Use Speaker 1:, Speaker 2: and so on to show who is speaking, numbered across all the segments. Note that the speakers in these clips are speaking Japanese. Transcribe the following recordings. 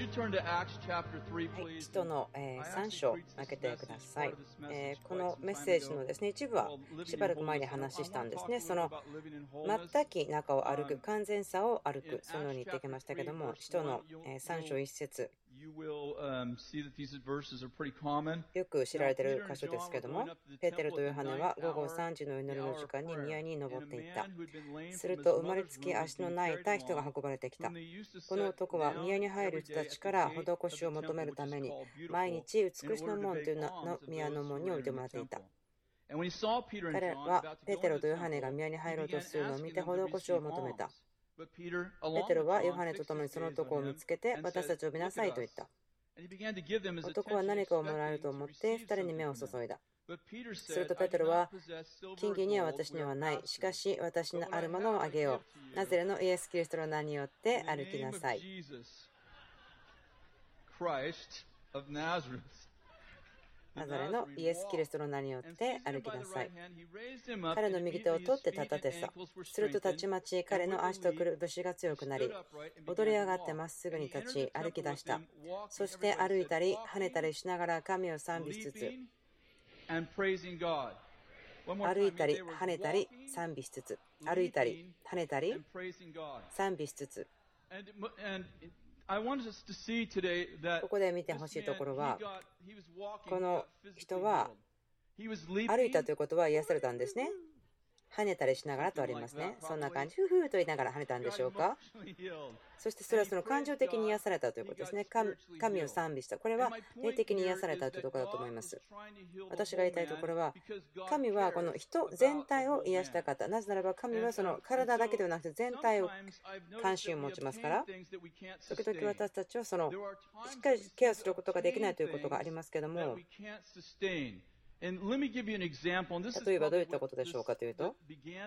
Speaker 1: 使徒の3章を開けてください。このメッセージのですね、一部はしばらく前に話したんですね。その全き中を歩く、完全さを歩く、そのように言ってきましたけども、使徒の3章1節、よく知られている箇所ですけども、ペテロとヨハネは午後3時の祈りの時間に宮に登っていった。すると生まれつき足のない痛い人が運ばれてきた。この男は宮に入る人たちから施しを求めるために毎日美しの門というの宮の門に置いてもらっていた。彼はペテロとヨハネが宮に入ろうとするのを見て施しを求めた。ペテロはヨハネと共にその男を見つけて、私たちを呼びなさいと言った。男は何かをもらえると思って2人に目を注いだ。するとペテロは、金銀には私にはない。しかし私のあるものをあげよう。ナザレのイエス・キリストの名によって歩きなさい。ナザレのイエス・キリストの名によって歩きなさい。彼の右手を取って立たてさ。するとたちまち彼の足とくるぶしが強くなり、踊り上がってまっすぐに立ち歩き出した。そして歩いたり跳ねたりしながら神を賛美しつつ、歩いたり跳ねたり賛美しつつ、歩いたり跳ねたり賛美しつつ。ここで見てほしいところは、この人は歩いたということは癒されたんですね。跳ねたりしながらとありますね。そんな感じ、ふふと言いながら跳ねたんでしょうか。そしてそれはその感情的に癒されたということですね。神を賛美した。これは霊的に癒されたというところだと思います。私が言いたいところは、神はこの人全体を癒した方。なぜならば神はその体だけではなくて全体を関心を持ちますから、時々私たちはそのしっかりケアすることができないということがありますけども、例えばどういったことでしょうかというと、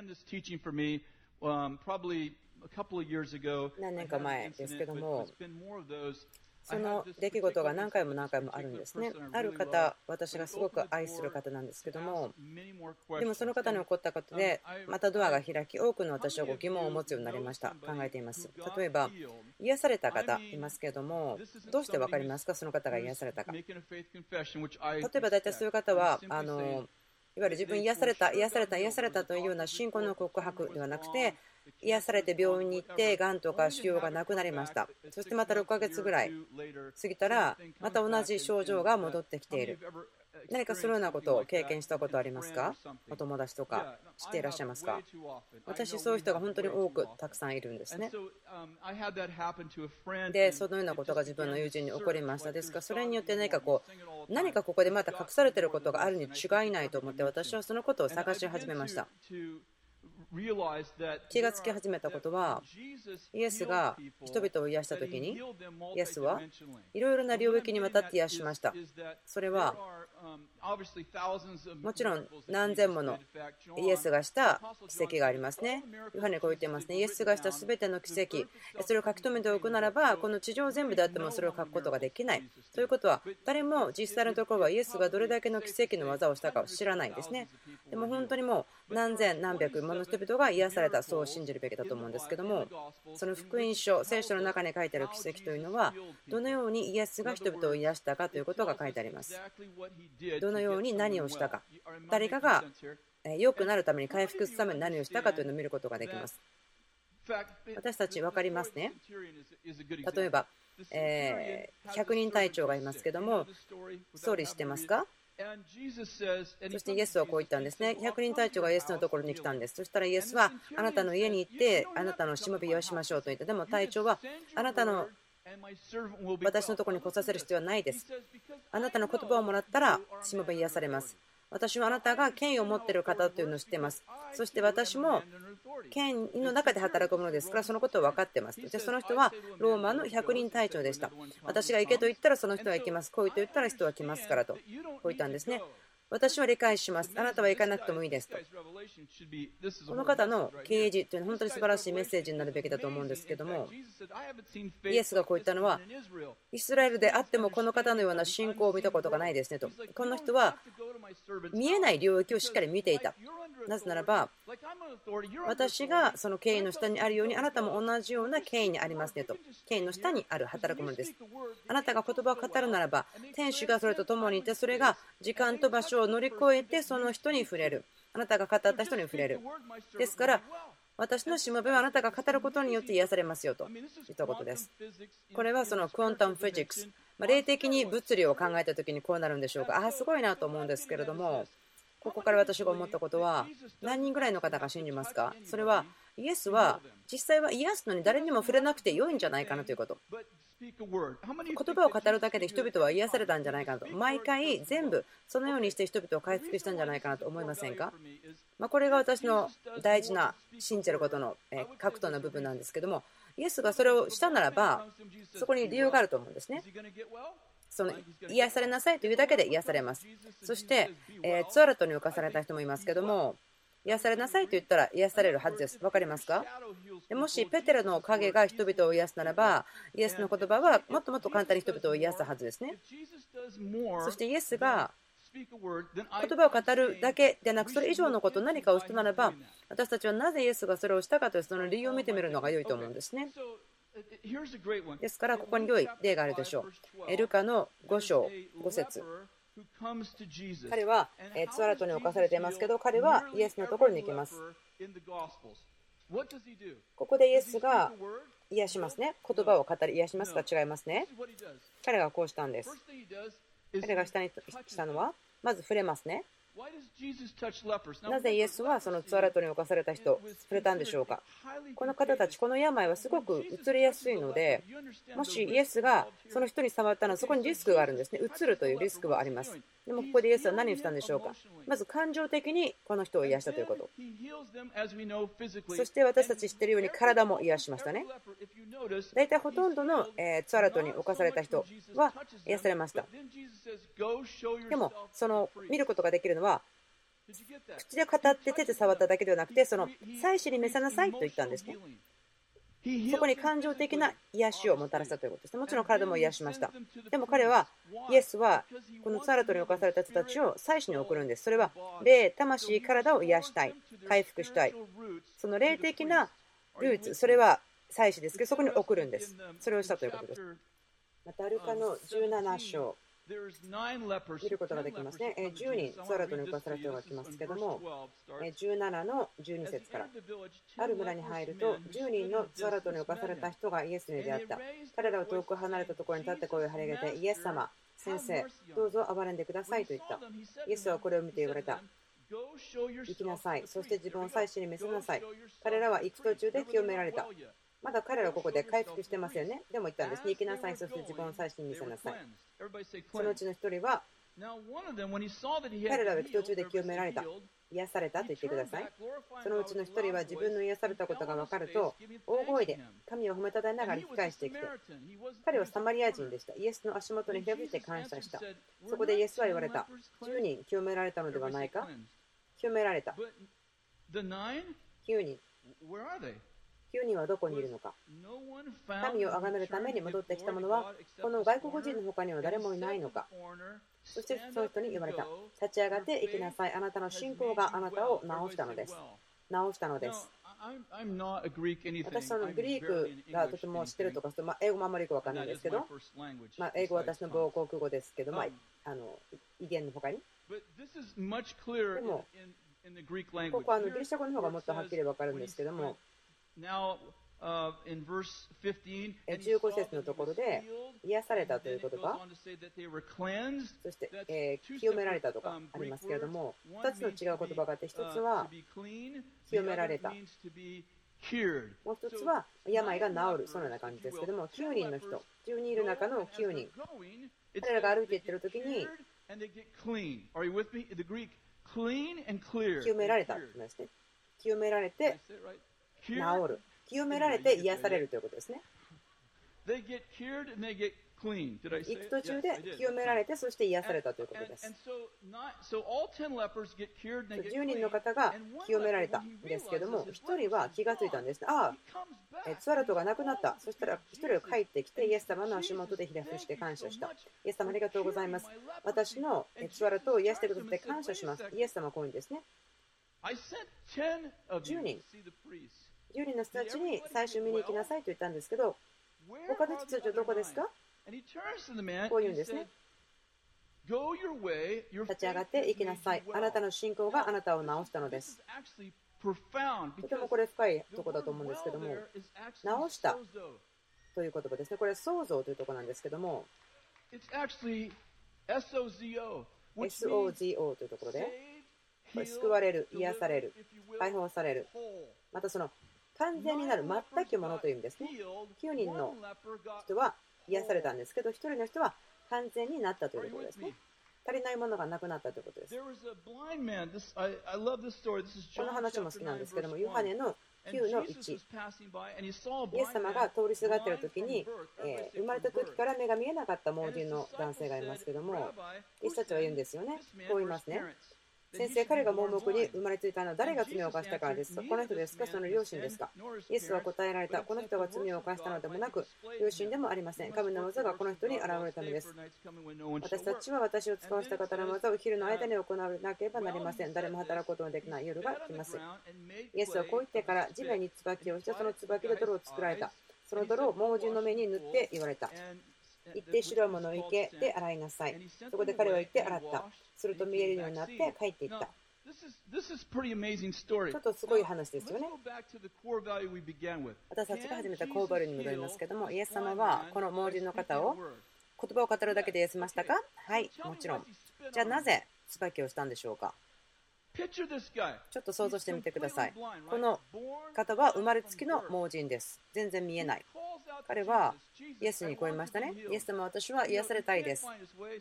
Speaker 1: 何年か前ですけども、その出来事が何回も何回もあるんですね。ある方、私がすごく愛する方なんですけども、でもその方に起こったことでまたドアが開き、多くの私は疑問を持つようになりました。考えています。例えば癒された方いますけども、どうして分かりますか、その方が癒されたか。例えば大体そういう方はいわゆる自分癒された癒された癒されたというような信仰の告白ではなくて、癒されて病院に行ってがんとか腫瘍がなくなりました。そしてまた6ヶ月ぐらい過ぎたらまた同じ症状が戻ってきている。何かそのようなことを経験したことありますか？お友達とか知っていらっしゃいますか？私、そういう人が本当に多くたくさんいるんですね。で、そのようなことが自分の友人に起こりました。ですからそれによって何かここでまた隠されていることがあるに違いないと思って、私はそのことを探し始めました。気がつき始めたことは、イエスが人々を癒したときに、イエスはいろいろな領域にわたって癒しました。それはもちろん何千ものイエスがした奇跡がありますね。ヨハネこう言っていますね。イエスがしたすべての奇跡、それを書き留めておくならば、この地上全部であってもそれを書くことができない。ということは、誰も実際のところはイエスがどれだけの奇跡の技をしたかを知らないんですね。でも本当にもう何千何百もの人々が癒された、そう信じるべきだと思うんですけども、その福音書、聖書の中に書いてある奇跡というのは、どのようにイエスが人々を癒したかということが書いてあります。どのように何をしたか、誰かが良くなるために、回復するために何をしたかというのを見ることができます。私たち分かりますね。例えば100人隊長がいますけども、ストーリー知ってますか？そしてイエスはこう言ったんですね。100人隊長がイエスのところに来たんです。そしたらイエスは、あなたの家に行ってあなたのしもべを癒しましょうと言った。でも隊長は、あなたの私のところに来させる必要はないです。あなたの言葉をもらったらしもべ癒されます。私はあなたが権威を持っている方というのを知っています。そして私も権威の中で働くものですから、そのことを分かっています。で、その人はローマの100人隊長でした。私が行けと言ったらその人は行きます。来いと言ったら人は来ますからと、こう言ったんですね。私は理解します。あなたは行かなくてもいいですと。この方の啓示というのは本当に素晴らしいメッセージになるべきだと思うんですけども、イエスがこう言ったのは、イスラエルであってもこの方のような信仰を見たことがないですねと。この人は見えない領域をしっかり見ていた。 なぜならば、私がその権威の下にあるように、あなたも同じような権威にありますねと。権威の下にある働くものです。あなたが言葉を語るならば、天使がそれと共にいて、それが時間と場所を乗り越えて、その人に触れる。あなたが語った人に触れる。ですから、私のしもべはあなたが語ることによって癒されますよと言ったことです。これはそのクォンタムフィジックス、霊的に物理を考えたときにこうなるんでしょうか。すごいなと思うんですけれども、ここから私が思ったことは、何人ぐらいの方が信じますか？それはイエスは実際は癒すのに誰にも触れなくて良いんじゃないかなということ。言葉を語るだけで人々は癒されたんじゃないかなと。毎回全部そのようにして人々を回復したんじゃないかなと思いませんか？これが私の大事な信じることの核とな部分なんですけども、イエスがそれをしたならばそこに理由があると思うんですね。その癒されなさいというだけで癒されます。そして、ツアラトに浮かされた人もいますけども、癒されなさいと言ったら癒されるはずです。分かりますか？もしペテロの影が人々を癒すならば、イエスの言葉はもっともっと簡単に人々を癒すはずですね。そしてイエスが言葉を語るだけでなく、それ以上のこと、何かをしたならば、私たちはなぜイエスがそれをしたかというその理由を見てみるのが良いと思うんですね。ですから、ここに良い例があるでしょう。ルカの5章5節。彼はツアラトに侵されていますけど、彼はイエスのところに行きます。ここでイエスが癒しますね。言葉を語り癒しますが違いますね。彼がこうしたんです。彼が下にしたのは、まず触れますね。なぜイエスはそのツアラトに侵された人、触れたんでしょうか。この方たち、この病はすごく移りやすいので、もしイエスがその人に触ったらそこにリスクがあるんですね。移るというリスクはあります。でもここでイエスは何をしたんでしょうか。まず感情的にこの人を癒したということ。そして私たち知っているように体も癒しましたね。大体ほとんどのツアラトに侵された人は癒されました。でもその見ることができるのは口で語って手で触っただけではなくて、その祭司に召さなさいと言ったんですね。そこに感情的な癒しをもたらしたということですね。もちろん体も癒しました。でも彼は、イエスはこのツアラトに侵された人たちを祭司に送るんです。それは霊、魂、体を癒したい、回復したい。その霊的なルーツ、それは祭司ですけど、そこに送るんです。それをしたということです。またルカの17章。見ることができますね。10人ツアラトに侵された人が来ますけども、17の12節から、ある村に入ると10人のツアラトに侵された人がイエスに出会った。彼らは遠く離れたところに立って声を張り上げて、イエス様、先生、どうぞ憐れんでくださいと言った。イエスはこれを見て言われた。行きなさい、そして自分を祭司に見せなさい。彼らは行く途中で清められた。まだ彼らはここで回復してますよね。でも言ったんです。行きなさい、そして自分を祭司に見せなさい。そのうちの一人は、彼らは行く途中で清められた、癒されたと言ってください。そのうちの一人は自分の癒されたことが分かると、大声で神を褒めたたえながら引き返してきて、彼はサマリア人でした。イエスの足元にひれ伏して感謝した。そこでイエスは言われた。10人清められたのではないか。清められた。9人。9人はどこにいるのか。神を崇めるために戻ってきた者は、この外国人の他には誰もいないのか。そしてその人に言われた。立ち上がって行きなさい。あなたの信仰があなたを治したのです。治したのです。私はグリークがとても知ってるとか、英語もあまりよく分からないですけど、英語は私の母国語ですけど、威厳の他に。でも、ここはギリシャ語の方がもっとはっきり分かるんですけども、15節のところで癒されたという言葉、そして清められたとかありますけれども、2つの違う言葉があって、1つは清められた、もう1つは病が治る、そのような感じですけども、9人の人、10人いる中の9人、彼らが歩いていっているときに清められたんですね。清められて治る、清められて癒されるということですね。行く途中で清められて、そして癒されたということです。10人の方が清められたんですけども、1人は気がついたんです。ツアラトがなくなった。そしたら1人は帰ってきて、イエス様の足元でひれ伏して感謝した。イエス様ありがとうございます。私のツアラトを癒してくださって感謝します。イエス様はこういうんですね。 10人の人たちに最初見に行きなさいと言ったんですけど、他の人たちはどこですか？こう言うんですね。立ち上がって行きなさい。あなたの信仰があなたを治したのです。とてもこれ深いところだと思うんですけども、治したという言葉ですね。これは創造というところなんですけども、SOZO というところで、これ救われる、癒される、解放される、またその完全になる、全くものという意味ですね。9人の人は癒されたんですけど、1人の人は完全になったというところですね。足りないものがなくなったということです。この話も好きなんですけども、ヨハネの9の1、イエス様が通りすがっている時に、生まれた時から目が見えなかった盲人の男性がいますけども、イエスたちは言うんですよね。こう言いますね。先生、彼が盲目に生まれついたのは誰が罪を犯したからですか？この人ですか？その両親ですか？イエスは答えられた。この人が罪を犯したのでもなく、両親でもありません。神の技がこの人に現れたのです。私たちは私を使わした方の技を昼の間に行わなければなりません。誰も働くことのできない夜が来ます。イエスはこう言ってから地面に椿をして、その椿で泥を作られた。その泥を盲人の目に塗って言われた。行って白いものを池で洗いなさい。そこで彼は行って洗った。すると見えるようになって帰っていった。ちょっとすごい話ですよね。私たちが始めたコーバルに戻りますけども、イエス様はこの盲人の方を言葉を語るだけで癒せましたか？はい、もちろん。じゃあなぜ椿をしたんでしょうか？ちょっと想像してみてください。この方は生まれつきの盲人です。全然見えない。彼はイエスにこう言いましたね。イエス様、私は癒されたいです。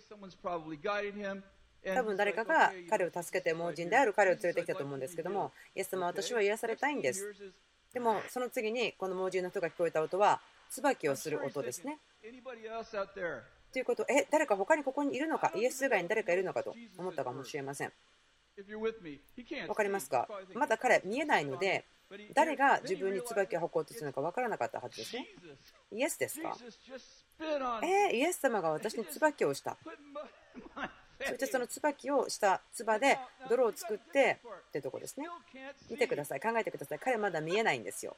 Speaker 1: 多分誰かが彼を助けて盲人である彼を連れてきたと思うんですけども、イエス様、私は癒されたいんです。でもその次にこの盲人の人が聞こえた音は椿をする音ですね。ということ、誰か他にここにいるのか、イエス以外に誰かいるのかと思ったかもしれません。わかりますか？まだ彼見えないので、誰が自分に椿を吐こうとするのか分からなかったはずですね。イエスですか？イエス様が私に椿をした。そしてその椿をした唾で泥を作ってってとこですね。見てください、考えてください。彼まだ見えないんですよ。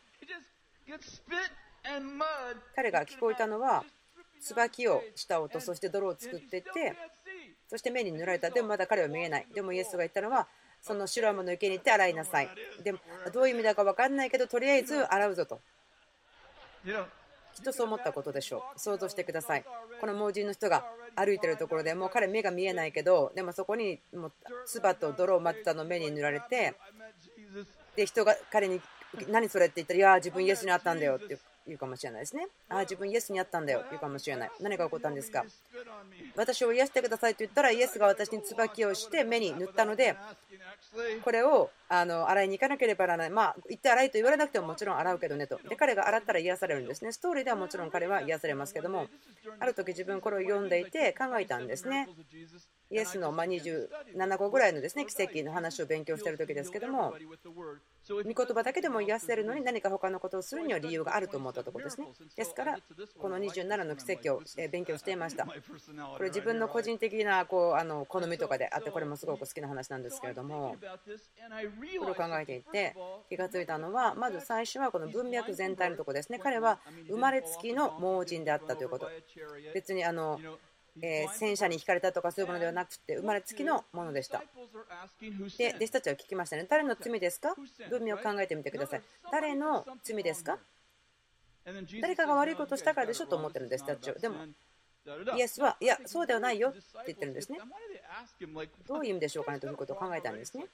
Speaker 1: 彼が聞こえたのは椿をした音、そして泥を作っていって、そして目に塗られた。でもまだ彼は見えない。でもイエスが言ったのは、その白いものを池に行って洗いなさい。でもどういう意味だか分かんないけど、とりあえず洗うぞと。きっとそう思ったことでしょう。想像してください。この盲人の人が歩いてるところで、もう彼目が見えないけど、でもそこにもう唾と泥をまってたのを目に塗られて、で人が彼に何それって言ったら、いや自分イエスに会ったんだよって言うかもしれないですね。自分イエスに会ったんだよって言うかもしれない。何が起こったんですか？私を癒してくださいと言ったら、イエスが私に椿をして目に塗ったので、これを洗いに行かなければならない。行って洗いと言われなくてももちろん洗うけどねと。で彼が洗ったら癒されるんですね。ストーリーではもちろん彼は癒されますけども、ある時自分これを読んでいて考えたんですね。イエスの27個ぐらいのですね、奇跡の話を勉強している時ですけども、御言葉だけでも癒せるのに何か他のことをするには理由があると思ったところですね。ですからこの27の奇跡を勉強していました。これ自分の個人的な好みとかであって、これもすごく好きな話なんですけれども、これを考えていて気がついたのは、まず最初はこの文脈全体のところですね。彼は生まれつきの盲人であったということ。別に戦車に引かれたとかそういうものではなくて、生まれつきのものでした。で弟子たちは聞きましたね。誰の罪ですか？文脈を考えてみてください。誰の罪ですか？誰かが悪いことをしたからでしょと思ってるんです、弟子たちは。でもイエスは、いやそうではないよって言ってるんですね。どういう意味でしょうかねということを考えたんですね。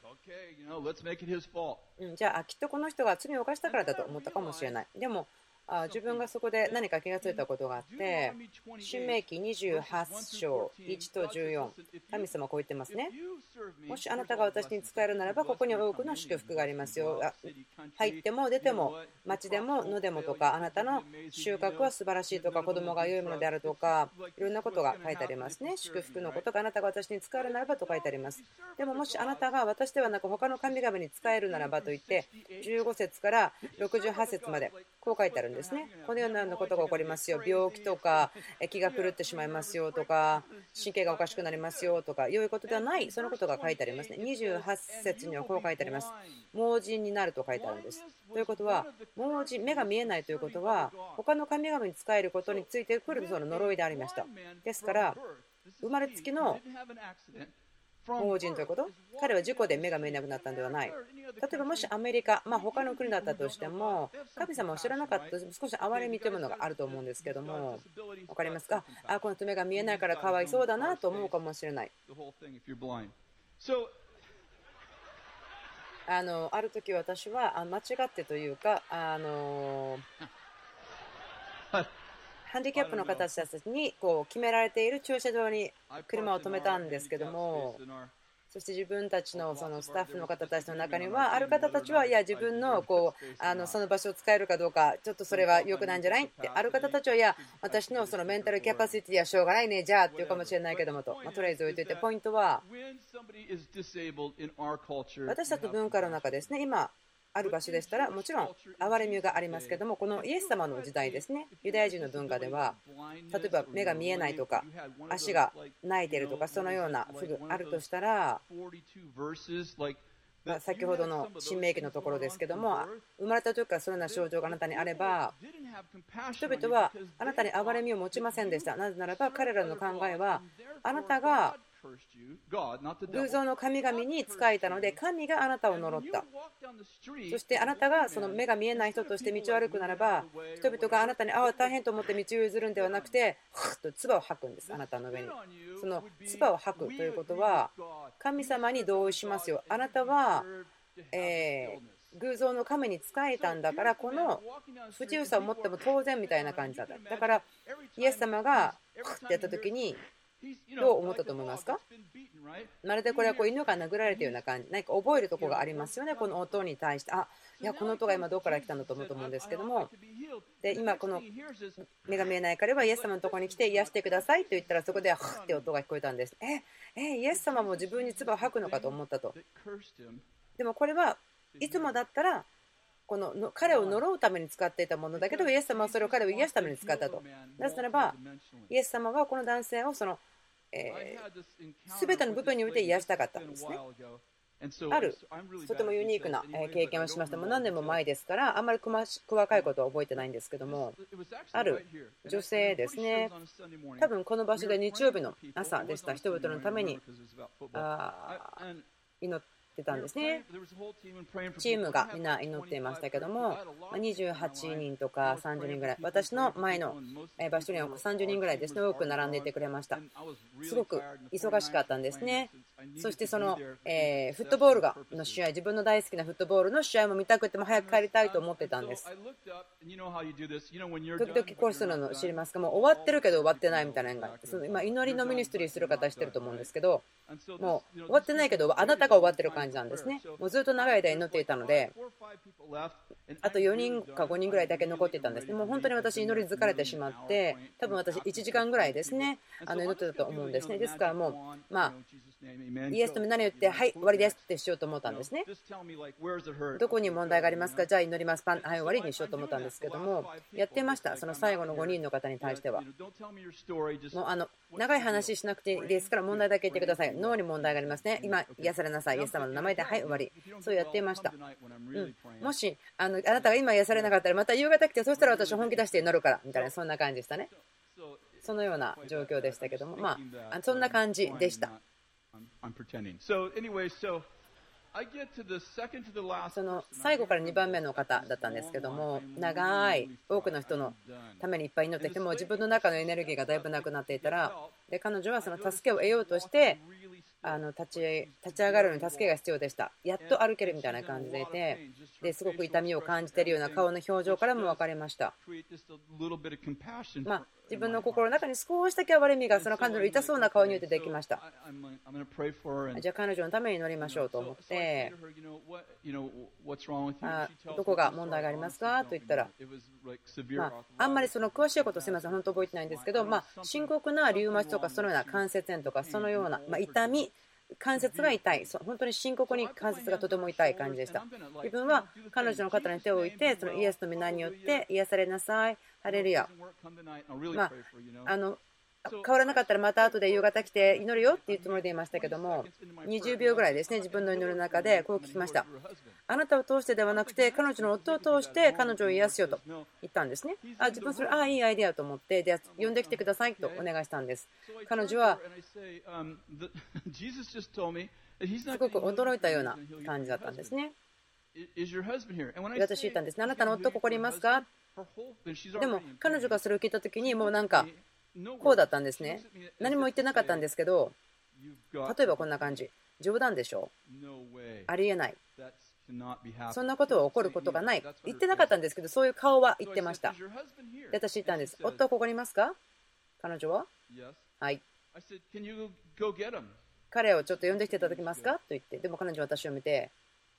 Speaker 1: じゃあきっとこの人が罪を犯したからだと思ったかもしれない。でも自分がそこで何か気がついたことがあって、申命記28章1と14、神様はこう言ってますね。もしあなたが私に仕えるならば、ここに多くの祝福がありますよ。入っても出ても、町でも野でもとか、あなたの収穫は素晴らしいとか、子供が良いものであるとか、いろんなことが書いてありますね。祝福のことがあなたが私に仕えるならばと書いてあります。でももしあなたが私ではなく他の神々に仕えるならばと言って、15節から68節までこう書いてあるんです。 ですね。このようなことが起こりますよ。病気とか気が狂ってしまいますよとか、神経がおかしくなりますよとか、いうことではない、そのことが書いてありますね。28節にはこう書いてあります。盲人になると書いてあるんです。ということは、盲人、目が見えないということは、他の神々に仕えることについてくるその呪いでありました。ですから、生まれつきの盲人ということ、彼は事故で目が見えなくなったのではない。例えばもしアメリカ、他の国だったとしても、神様を知らなかったと少し憐れみというものがあると思うんですけども、分かりますか？この人目が見えないからかわいそうだなと思うかもしれない。ある時私は間違ってというか、ハンディキャップの方たちに決められている駐車場に車を止めたんですけども、そして自分たちのそのスタッフの方たちの中には、ある方たちはいや自分のその場所を使えるかどうか、ちょっとそれは良くないんじゃないって、ある方たちはいや私のそのメンタルキャパシティはしょうがないねじゃあっていうかもしれないけどもと、とりあえず置いといて、ポイントは私たちの文化の中ですね、今ある場所でしたらもちろん憐れみがありますけども、このイエス様の時代ですね、ユダヤ人の文化では例えば目が見えないとか足が泣いているとか、そのような不具あるとしたら、先ほどの新明記のところですけども、生まれた時からそのような症状があなたにあれば、人々はあなたに憐れみを持ちませんでした。なぜならば彼らの考えは、あなたが偶像の神々に仕えたので神があなたを呪った。そしてあなたがその目が見えない人として道を歩くならば、人々があなたに大変と思って道を譲るんではなくて、ふっと唾を吐くんです。あなたの上にその唾を吐くということは、神様に同意しますよ。あなたは偶像の神に仕えたんだから、この不自由さを持っても当然みたいな感じだった。だからイエス様がふってやった時にどう思ったと思いますか？まるでこれは犬が殴られたような感じ、何か覚えるところがありますよね、この音に対して。いやこの音が今どこから来たんだと思うと思うんですけども、で今この目が見えない彼はイエス様のところに来て癒してくださいと言ったら、そこではふって音が聞こえたんです。イエス様も自分に唾を吐くのかと思ったと。でもこれはいつもだったらこの彼を呪うために使っていたものだけど、イエス様はそれを彼を癒すために使ったと。なぜならばイエス様はこの男性をその全ての部分において癒したかったんですね。あるとてもユニークな経験をしました。もう何年も前ですからあんまり細かいことは覚えてないんですけども、ある女性ですね、多分この場所で日曜日の朝でした。人々のために祈ってたんですね。チームがみんな祈っていましたけども、28人とか30人ぐらい、私の前の場所には30人ぐらいですね、多く並んでいてくれました。すごく忙しかったんですね。そしてそのフットボールの試合、自分の大好きなフットボールの試合も見たくても早く帰りたいと思ってたんです。時々こうするの知りますか？もう終わってるけど終わってないみたいなのがあって、今祈りのミニストリーする方は知ってると思うんですけど、もう終わってないけどあなたが終わってる感じなんですね。もうずっと長い間祈っていたので、あと4人か5人ぐらいだけ残っていたんですね。もう本当に私祈り疲れてしまって、多分私1時間ぐらいですね祈ってたと思うんですね。ですからもうイエスとみんなに言ってはい終わりですってしようと思ったんですね。どこに問題がありますか？じゃあ祈ります、パン、はい終わりにしようと思ったんですけども、やってました。その最後の5人の方に対してはもう長い話しなくていいですから問題だけ言ってください。脳に問題がありますね。今癒されなさい、イエス様の名前ではい終わり、そうやっていました。もしあなたが今癒されなかったらまた夕方来て、そしたら私本気出して祈るからみたいな、そんな感じでしたね。そのような状況でしたけども、そんな感じでした。その最後から2番目の方だったんですけども、長い多くの人のためにいっぱい祈ってきても自分の中のエネルギーがだいぶなくなっていたら、で彼女はその助けを得ようとして立ち上がるのに助けが必要でした。やっと歩けるみたいな感じでいて、ですごく痛みを感じているような顔の表情からも分かりました。自分の心の中に少しだけ憐れみがその彼女の痛そうな顔によってできました。じゃあ彼女のために祈りましょうと思って、どこが問題がありますかと言ったら、あんまりその詳しいことすみません本当覚えてないんですけど、深刻なリウマチとかそのような関節炎とかそのような痛み関節が痛い、本当に深刻に関節がとても痛い感じでした。自分は彼女の肩に手を置いて、そのイエスの皆によって癒されなさい、ハレルヤ。変わらなかったらまた後で夕方来て祈るよっていうつもりでいましたけども、20秒ぐらいですね、自分の祈る中でこう聞きました。あなたを通してではなくて、彼女の夫を通して彼女を癒すよと言ったんですね。自分それ、いいアイデアと思って、で呼んできてくださいとお願いしたんです。彼女はすごく驚いたような感じだったんですね。私言ったんですね。あなたの夫ここにいますか？でも彼女がそれを聞いた時にもうなんかこうだったんですね。何も言ってなかったんですけど、例えばこんな感じ。冗談でしょ？ありえない。そんなことは起こることがない。言ってなかったんですけど、そういう顔は言ってました。で、私言ったんです。夫はここにいますか？彼女ははい。彼をちょっと呼んできていただけますかと言って、でも彼女は私を見て、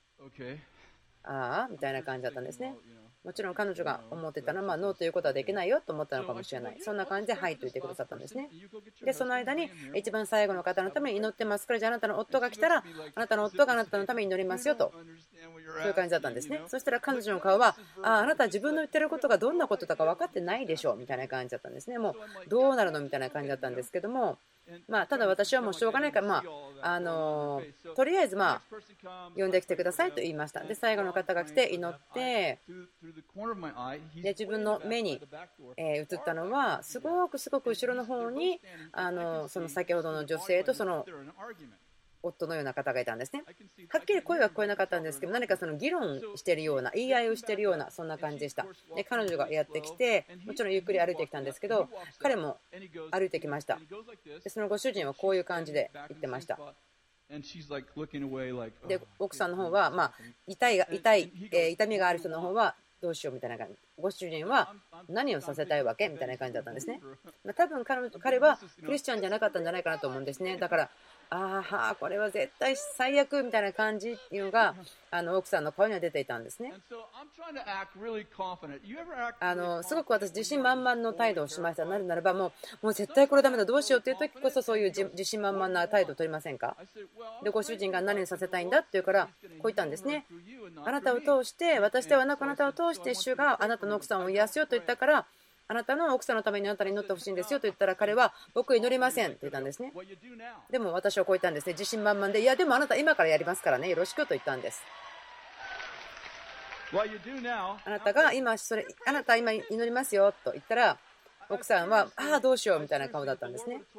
Speaker 1: ああみたいな感じだったんですね。もちろん彼女が思ってたのは、ノーということはできないよと思ったのかもしれない。そんな感じではいと言ってくださったんですね。で、その間に一番最後の方のために祈ってますから、じゃああなたの夫が来たら、あなたの夫があなたのために祈りますよと、そういう感じだったんですね。そしたら彼女の顔は、あなた自分の言ってることがどんなことだか分かってないでしょみたいな感じだったんですね。もうどうなるのみたいな感じだったんですけども、ただ私はもうしょうがないから、とりあえず呼んできてくださいと言いました。で、最後の方が来て祈って、で自分の目に映ったのはすごく後ろの方にその先ほどの女性とその夫のような方がいたんですね。はっきり声は聞こえなかったんですけど、何かその議論しているような、言い合いをしているような、そんな感じでした。で彼女がやってきて、もちろんゆっくり歩いてきたんですけど、彼も歩いてきました。でそのご主人はこういう感じで言ってました。で奥さんの方は、痛みがある人の方はどうしようみたいな感じ。ご主人は何をさせたいわけみたいな感じだったんですね。多分彼はクリスチャンじゃなかったんじゃないかなと思うんですね。だからこれは絶対最悪みたいな感じっていうのが奥さんの顔には出ていたんですね。すごく私自信満々の態度をしました。なぜならばもう絶対これダメだどうしようっていう時こそそういう自信満々な態度を取りませんか？でご主人が何をさせたいんだって言うからこう言ったんですね。あなたを通して私ではなくあなたを通して主があなたの奥さんを癒すよと言ったからあなたの奥さんのためにあなたに祈ってほしいんですよと言ったら彼は僕祈りませんと言ったんですね。でも私はこう言ったんですね。自信満々でいやでもあなた今からやりますからねよろしくと言ったんです。あなたが今あなた今祈りますよと言ったら奥さんはどうしようみたいな顔だったんですね。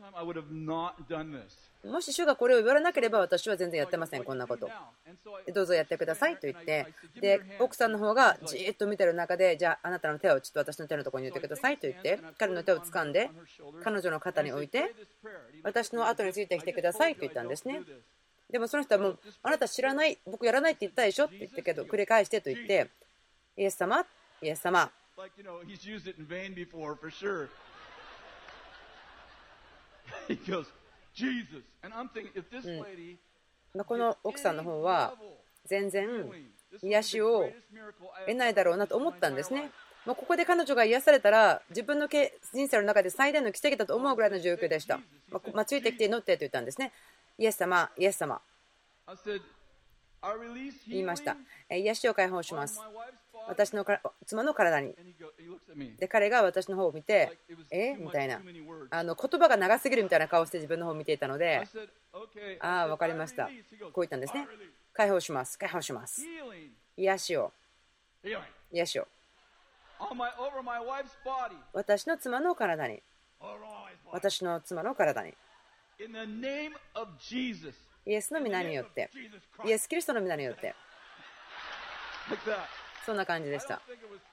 Speaker 1: もし主がこれを言われなければ私は全然やってませんこんなこと。どうぞやってくださいと言ってで奥さんの方がじーっと見てる中でじゃああなたの手をちょっと私の手のところに入れてくださいと言って彼の手を掴んで彼女の肩に置いて私の後についてきてくださいと言ったんですね。でもその人はもうあなた知らない僕やらないって言ったでしょって言ったけど繰り返してと言ってイエス様イエス様この奥さんの方は全然癒しを得ないだろうなと思ったんですね。もうここで彼女が癒されたら自分の人生の中で最大の奇跡だと思うぐらいの状況でした。ついてきて祈ってと言ったんですね。イエス様イエス様言いました。癒しを解放します私の妻の体に。で彼が私の方を見てみたいな言葉が長すぎるみたいな顔をして自分の方を見ていたので分かりましたこう言ったんですね。解放します解放します癒しを癒しを私の妻の体に私の妻の体にイエスの皆によってイエス・キリストの皆によってそんな感じでした。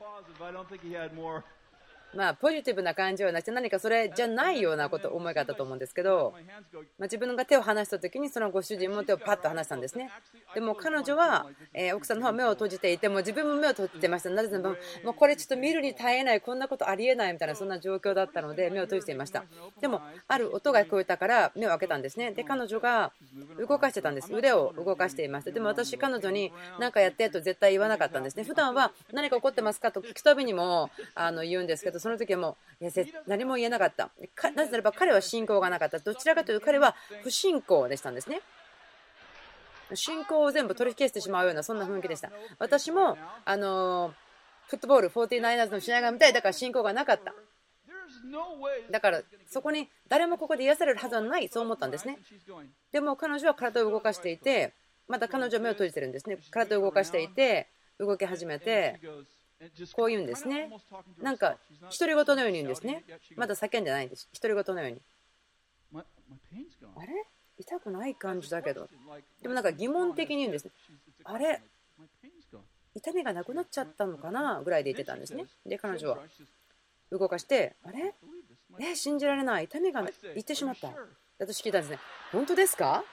Speaker 1: ポジティブな感じはなくて何かそれじゃないようなこと思いがあったと思うんですけど自分が手を離した時にそのご主人も手をパッと離したんですね。でも彼女は奥さんの方は目を閉じていても自分も目を閉じてました。なぜならばもうこれちょっと見るに耐えないこんなことありえないみたいなそんな状況だったので目を閉じていました。でもある音が聞こえたから目を開けたんですね。で彼女が動かしてたんです。腕を動かしていました。でも私彼女に何かやってと絶対言わなかったんですね。普段は何か起こってますかと聞くたびにも言うんですけどその時はもう何も言えなかった。なぜならば彼は信仰がなかった。どちらかというと彼は不信仰でしたんですね。信仰を全部取り消してしまうようなそんな雰囲気でした。私もフットボール 49ers の試合が見たい。だから信仰がなかった。だからそこに誰もここで癒されるはずはない、そう思ったんですね。でも彼女は体を動かしていて、まだ彼女は目を閉じてるんですね。体を動かしていて動き始めてこう言うんですね。なんか独り言のように言うんですね。まだ叫んでないんです。独り言のように。あれ痛くない感じだけど、でもなんか疑問的に言うんですね。あれ痛みがなくなっちゃったのかなぐらいで言ってたんですね。で彼女は動かして、あれ信じられない、痛みがいってしまった。私聞いたんですね。本当ですか？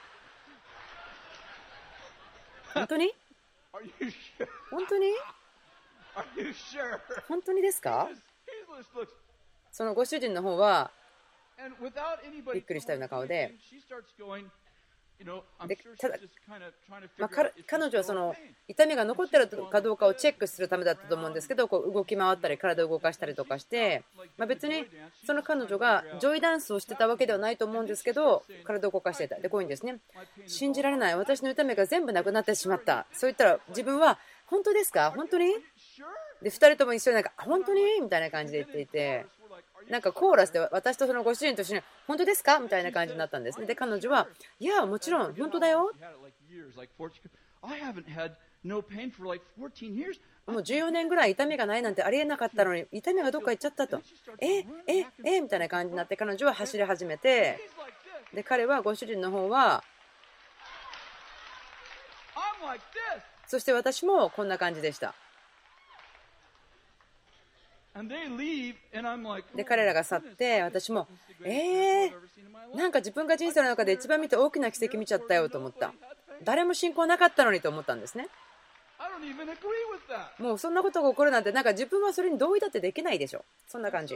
Speaker 1: 本当に本当に本当にですか？そのご主人の方はびっくりしたような顔で、ただ、彼女はその痛みが残っているかどうかをチェックするためだったと思うんですけど、こう動き回ったり体を動かしたりとかして、別にその彼女がジョイダンスをしてたわけではないと思うんですけど、体を動かしていた。でこういうんですね。信じられない、私の痛みが全部なくなってしまった。そう言ったら自分は本当ですか？本当に？で2人とも一緒に本当にみたいな感じで言っていて、なんかコーラスで私とそのご主人と一緒に本当ですかみたいな感じになったんですね。で彼女はいやもちろん本当だよ、もう14年ぐらい痛みがないなんてありえなかったのに痛みがどっか行っちゃったと、みたいな感じになって、彼女は走り始めて、で彼はご主人の方はそして私もこんな感じでした。で彼らが去って、私もなんか自分が人生の中で一番見て大きな奇跡見ちゃったよと思った。誰も信仰なかったのにと思ったんですね。もうそんなことが起こるなんて、なんか自分はそれに同意だってできないでしょ、そんな感じ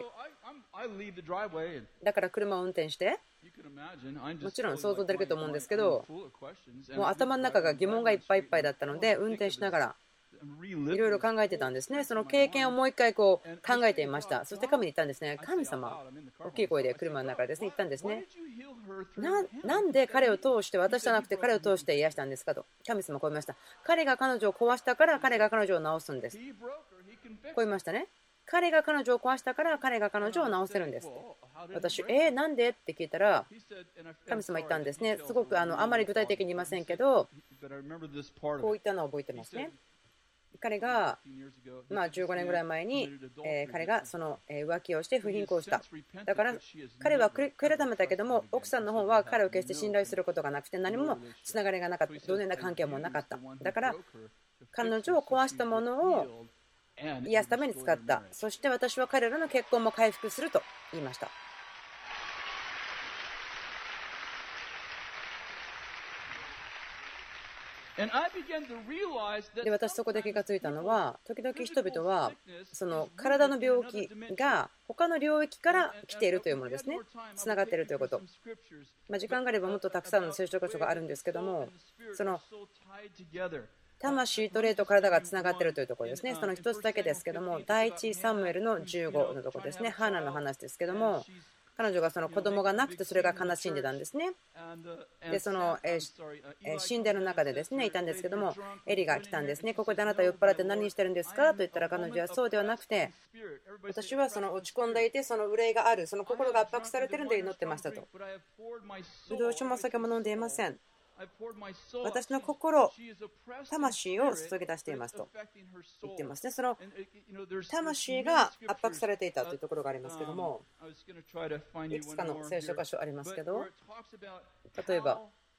Speaker 1: だから。車を運転して、もちろん想像できると思うんですけど、もう頭の中が疑問がいっぱいいっぱいだったので、運転しながらいろいろ考えてたんですね。その経験をもう一回こう考えていました。そして神に言ったんですね。神様、大きい声で車の中でですね言ったんですね。なんで彼を通して、私じゃなくて彼を通して癒したんですかと。神様こう言いました。彼が彼女を壊したから彼が彼女を治すんです。こう言いましたね。彼が彼女を壊したから彼が彼女を治せるんですって。私なんでって聞いたら、神様言ったんですね。すごくあまり具体的に言いませんけど、こう言ったのを覚えてますね。彼が15年ぐらい前に彼がその浮気をして不倫行をした。だから彼は悔い改めたけども、奥さんの方は彼を決して信頼することがなくて、何もつながりがなかった、同然な関係もなかった。だから彼女を壊したものを癒すために使った。そして私は彼らの結婚も回復すると言いました。で私そこで気がついたのは、時々人々はその体の病気が他の領域から来ているというものですね。つながっているということ、時間があればもっとたくさんの聖書箇所があるんですけども、その魂と霊と体がつながっているというところですね。その一つだけですけども、第一サムエルの15のところですね。ハーナの話ですけども、彼女がその子供がなくてそれが悲しんでたんですね。でその神殿の中でですねいたんですけども、エリが来たんですね。ここであなた酔っ払って何してるんですかと言ったら、彼女はそうではなくて、私はその落ち込んでいて、その憂いがある、その心が圧迫されているので祈ってましたと。ブドウ酒も酒も飲んでいません。私の心、魂を注ぎ出していますと言ってますね。その魂が圧迫されていたというところがありますけども、いくつかの聖書箇所ありますけど、例えば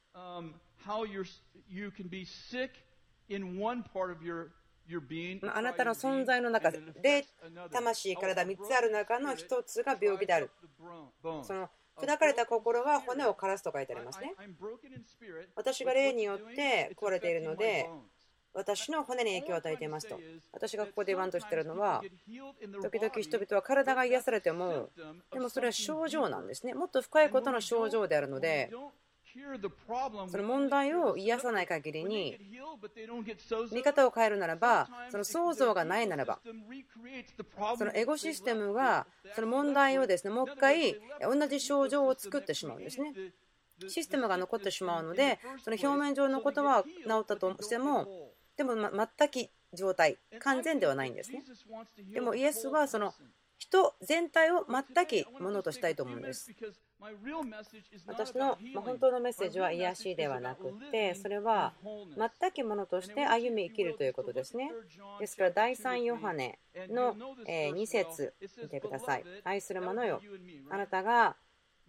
Speaker 1: あなたの存在の中で、魂、体3つある中の1つが病気である。その砕かれた心は骨を枯らすと書いてありますね。私が霊によって壊れているので、私の骨に影響を与えていますと。私がここで言わんとしているのは、時々人々は体が癒されても、でもそれは症状なんですね。もっと深いことの症状であるので、 その問題を癒さない限りに、見方を変えるならば、その創造がないならば、そのエゴシステムがその問題をですね、もう一回同じ症状を作ってしまうんですね。システムが残ってしまうので、その表面上のことは治ったとしても、でも全く状態、完全ではないんですね。でもイエスはその人全体を全くものとしたいと思うんです。私の本当のメッセージは癒しではなくて、それは全くものとして歩み生きるということですね。ですから第3ヨハネの2節見てください。愛する者よ、あなたが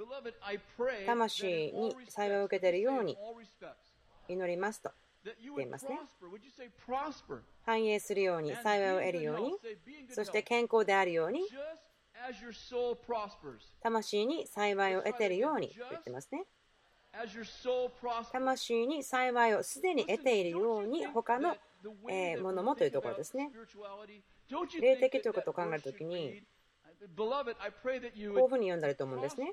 Speaker 1: 魂に幸いを受けているように祈りますと言っていますね。繁栄するように、幸いを得るように、そして健康であるように、魂に幸いを得ているようにと言ってますね。魂に幸いをすでに得ているように、他のものもというところですね。霊的ということを考えるときに、こういうふうに読んだらいいと思うんですね。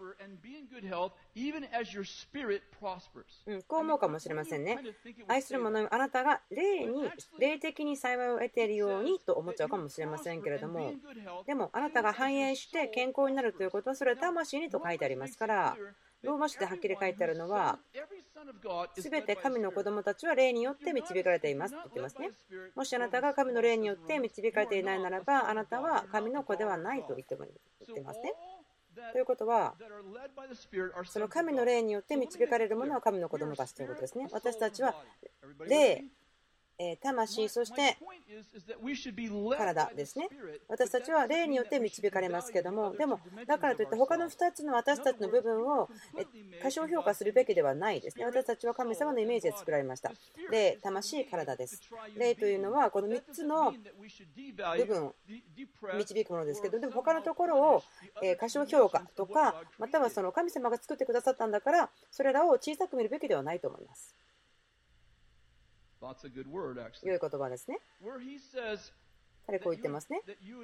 Speaker 1: こう思うかもしれませんね。愛する者よ、あなたが霊的に幸いを得ているようにと思っちゃうかもしれませんけれども、でもあなたが繁栄して健康になるということは、それは魂にと書いてありますから、ローマ書ではっきり書いてあるのは、すべて神の子供たちは霊によって導かれていますと言ってますね。もしあなたが神の霊によって導かれていないならば、あなたは神の子ではないと言ってますね。ということは、その神の霊によって導かれるものは神の子供たちということですね。私たちは霊、魂、そして体ですね。私たちは霊によって導かれますけども、でもだからといって他の2つの私たちの部分を過小評価するべきではないですね。私たちは神様のイメージで作られました。霊、魂、体です。霊というのはこの3つの部分を導くものですけど、でも他のところを過小評価とか、またはその神様が作ってくださったんだからそれらを小さく見るべきではないと思います。良い言葉ですね。彼こう言ってますね。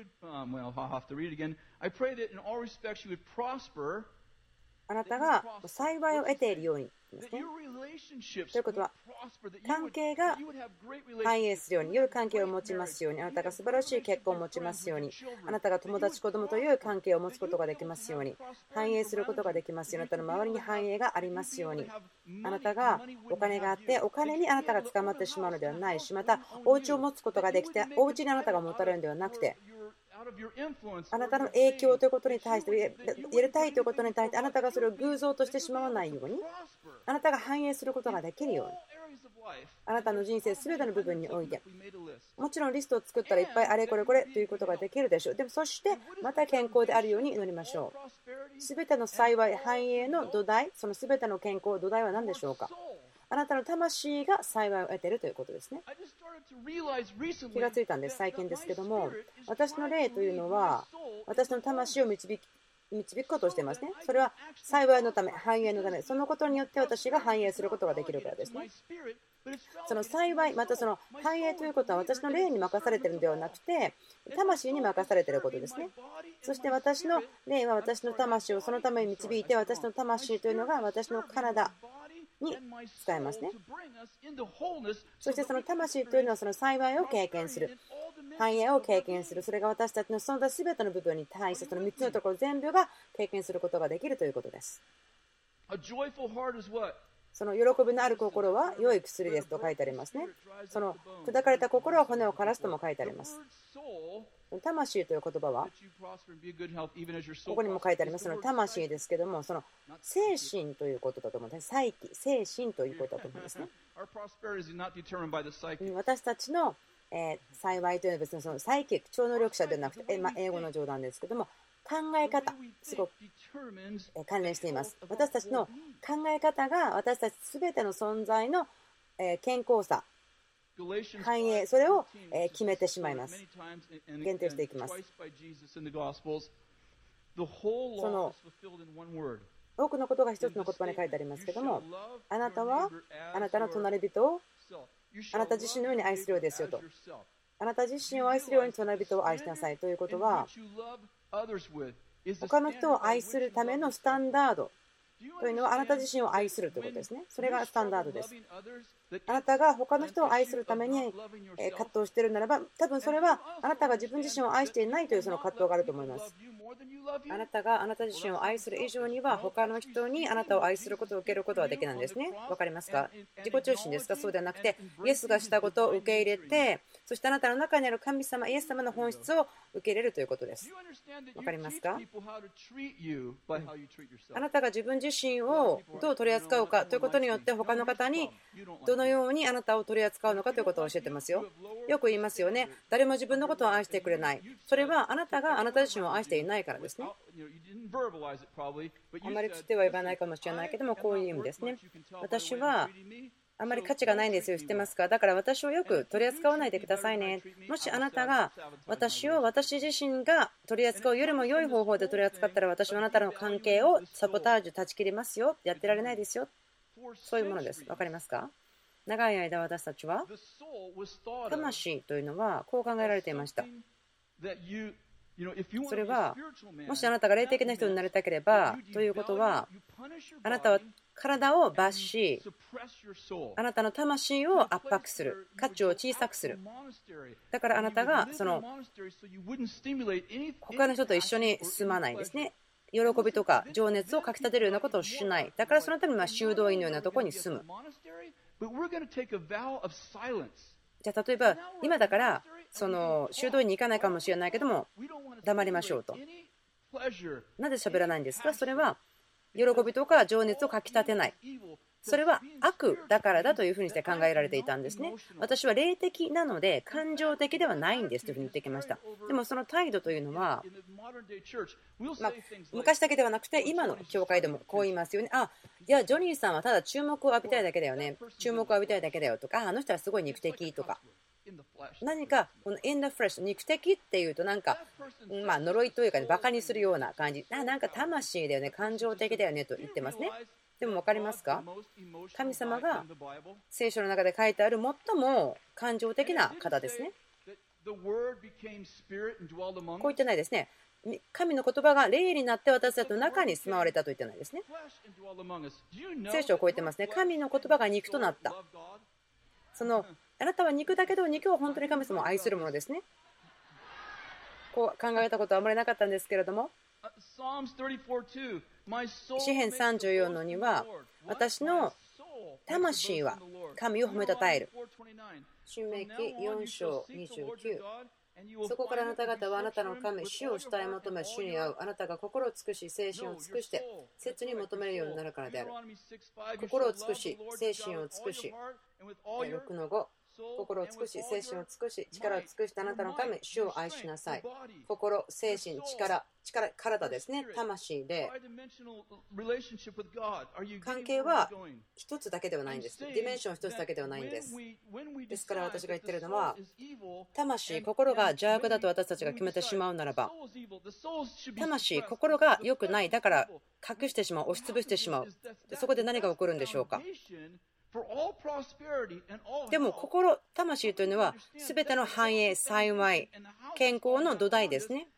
Speaker 1: あなたが幸いを得ているようにですね。ということは、関係が繁栄するように、良い関係を持ちますように、あなたが素晴らしい結婚を持ちますように、あなたが友達、子供という関係を持つことができますように、繁栄することができますように、あなたの周りに繁栄がありますように、あなたがお金があって、お金にあなたが捕まってしまうのではないし、また、お家を持つことができて、お家にあなたが持たれるのではなくて、あなたの影響ということに対して、やりたいということに対して、あなたがそれを偶像としてしまわないように、あなたが繁栄することができるように、あなたの人生すべての部分において、もちろんリストを作ったらいっぱいあれこれこれということができるでしょう。でもそしてまた健康であるように祈りましょう。すべての幸い、繁栄の土台、そのすべての健康、土台は何でしょうか。あなたの魂が幸いを得ているということですね。気がついたんです、最近ですけども、私の霊というのは私の魂を導くことをしていますね。それは幸いのため、繁栄のため、そのことによって私が繁栄することができるからですね。その幸い、またその繁栄ということは私の霊に任されているのではなくて、魂に任されていることですね。そして私の霊は私の魂をそのために導いて、私の魂というのが私の体に使えますね。そしてその魂というのはその幸いを経験する、繁栄を経験する、それが私たちのその他全ての部分に対してその3つのところ全部が経験することができるということです。その喜びのある心は良い薬ですと書いてありますね。その砕かれた心は骨を枯らすとも書いてあります。魂という言葉はここにも書いてあります。その魂ですけども、その精神ということだと思うんです。psyche、精神ということだと思うんですね。私たちの幸いというのは別にそのサイキック、超能力者ではなくて、英語の冗談ですけども、考え方、すごく関連しています。私たちの考え方が私たち全ての存在の健康さ、繁栄、それを決めてしまいます。限定していきます。その多くのことが一つの言葉に書いてありますけども、あなたはあなたの隣人をあなた自身のように愛するようですよと。あなた自身を愛するように隣人を愛しなさいということは、他の人を愛するためのスタンダードというのはあなた自身を愛するということですね。それがスタンダードです。あなたが他の人を愛するために葛藤しているならば、多分それはあなたが自分自身を愛していないというその葛藤があると思います。あなたがあなた自身を愛する以上には他の人にあなたを愛することを受けることはできないんですね。わかりますか？自己中心ですか？そうではなくて、イエスがしたことを受け入れて、そしてあなたの中にある神様、イエス様の本質を受け入れるということです。わかりますか？あなたが自分自身をどう取り扱うかということによって他の方にどのようにあなたを取り扱うのかということを教えてますよ。よく言いますよね。誰も自分のことを愛してくれない。それはあなたがあなた自身を愛していないからですね。あまり口では言わないかもしれないけども、こういう意味ですね。私はあまり価値がないんですよ、知ってますか？だから私をよく取り扱わないでくださいね。もしあなたが私を私自身が取り扱うよりも良い方法で取り扱ったら、私はあなたの関係をサボタージュ断ち切りますよ。やってられないですよ。そういうものです。わかりますか？長い間私たちは魂というのはこう考えられていました。それはもしあなたが霊的な人になりたければということは、あなたは体を罰し、あなたの魂を圧迫する、価値を小さくする。だからあなたがその他の人と一緒に住まないですね。喜びとか情熱をかきたてるようなことをしない。だからそのために修道院のようなところに住む。じゃあ例えば今だからその修道院に行かないかもしれないけども黙りましょうと。なぜ喋らないんですか？それは喜びとか情熱をかきたてない。それは悪だからだというふうにして考えられていたんですね。私は霊的なので感情的ではないんですというふうに言ってきました。でもその態度というのは、昔だけではなくて今の教会でもこう言いますよね。いやジョニーさんはただ注目を浴びたいだけだよね。注目を浴びたいだけだよとか、あの人はすごい肉的とか。何かこの in the flesh 肉的っていうとなんか呪いというかね、バカにするような感じ。なんか魂だよね、感情的だよねと言ってますね。でも分かりますか？神様が聖書の中で書いてある最も感情的な方ですね。こう言ってないですね。神の言葉が霊になって私たちの中に住まわれたと言ってないですね。聖書をこう言ってますね。神の言葉が肉となった。あなたは肉だけど肉を本当に神様を愛するものですね。こう考えたことはあまりなかったんですけれども、詩編34の2は私の魂は神を褒めたたえる。申命記4章29。そこからあなた方はあなたの神主を主体求め主に会う。あなたが心を尽くし精神を尽くして切に求めるようになるからである。心を尽くし精神を尽くし、6の5、心を尽くし精神を尽くし力を尽くしてあなたの神主を愛しなさい。心、精神、力、体ですね。魂で関係は一つだけではないんです。ディメンション一つだけではないんです。ですから私が言っているのは、魂、心が邪悪だと私たちが決めてしまうならば、魂、心が良くない、だから隠してしまう、押しつぶしてしまう。そこで何が起こるんでしょうか？でも心、魂というのは全ての繁栄、幸い、健康の土台ですね。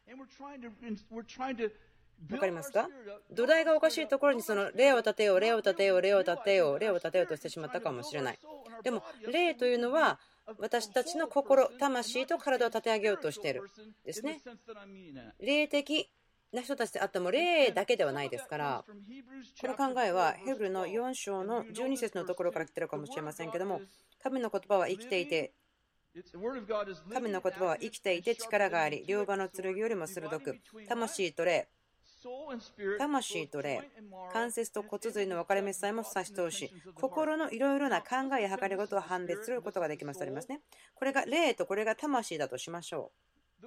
Speaker 1: わかりますか？土台がおかしいところにその霊を立てよう、霊を立てよう、霊を立てよう、霊を立てようとしてしまったかもしれない。でも霊というのは私たちの心、魂と体を立て上げようとしているですね。霊的な人たちであっても霊だけではないですから、この考えはヘブルの4章の12節のところから来ているかもしれませんけども、神の言葉は生きていて力があり、両刃の剣よりも鋭く、魂と霊、関節と骨髄の分かれ目さえも差し通し、心のいろいろな考えや計りごとを判別することができますとありますね。これが霊とこれが魂だとしましょう。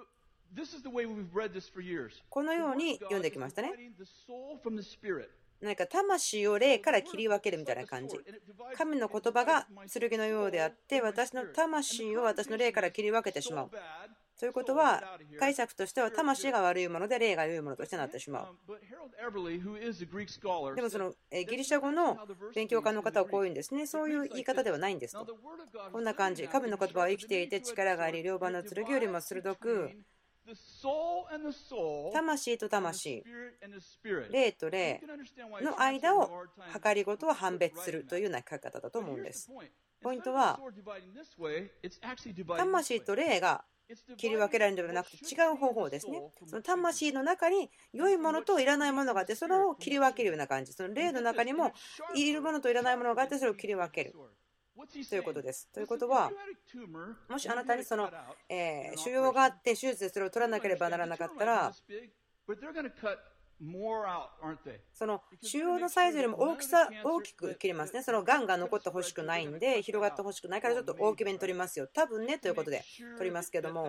Speaker 1: このように読んできましたね。何か魂を霊から切り分けるみたいな感じ。神の言葉が剣のようであって、私の魂を私の霊から切り分けてしまう。ということは、解釈としては魂が悪いもので霊が良いものとしてなってしまう。でもそのギリシャ語の勉強家の方はこういうんですね。そういう言い方ではないんですと。こんな感じ。神の言葉は生きていて力があり、両刃の剣よりも鋭く、 魂と魂、霊と霊の間を計りごとを判別するというような書き方だと思うんです。ポイントは、魂と霊が切り分けられるのではなくて違う方法ですね。その魂の中に良いものといらないものがあって、それを切り分けるような感じ。その霊の中にもいるものといらないものがあって、それを切り分けるということです。ということは、もしあなたにその腫瘍があって手術でそれを取らなければならなかったら、その腫瘍のサイズよりも大きく切りますね。そのがんが残ってほしくないんで、広がってほしくないからちょっと大きめに取りますよ。多分ねということで取りますけども、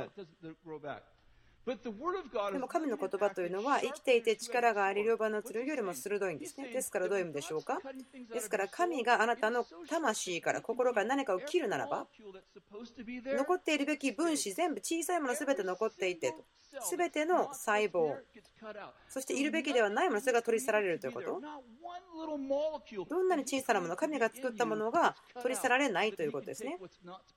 Speaker 1: でも神の言葉というのは生きていて力があり両刃の剣よりも鋭いんですね。ですからどういう意味でしょうか。ですから神があなたの魂から心から何かを切るならば、残っているべき分子全部小さいもの全て残っていてと、全ての細胞、そしているべきではないものそれが取り去られるということ。どんなに小さなもの、神が作ったものが取り去られないということですね。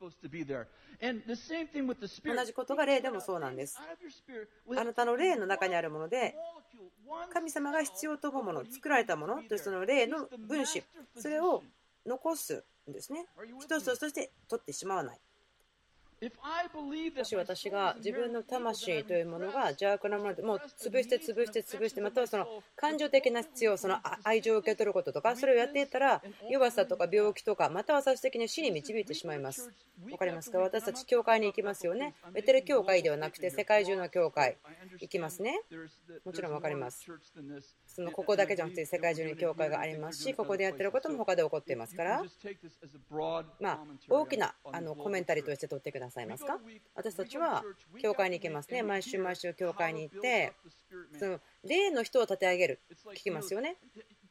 Speaker 1: 同じことが霊でもそうなんです。あなたの霊の中にあるもので、神様が必要と思うもの、作られたものというその霊の分子、それを残すんですね。一つとして取ってしまわない。もし私が自分の魂というものが邪悪なものでもう潰してまたはその感情的な必要、その愛情を受け取ることとか、それをやっていったら弱さとか病気とか、または最終的に死に導いてしまいます。わかりますか。私たち教会に行きますよね。ベテル教会ではなくて世界中の教会行きますね。もちろんわかります。ここだけじゃなくて世界中に教会がありますし、ここでやっていることも他で起こっていますから、大きなコメンタリーとして取ってくださいますか。私たちは教会に行きますね。毎週教会に行ってその霊の人を立て上げる聞きますよね。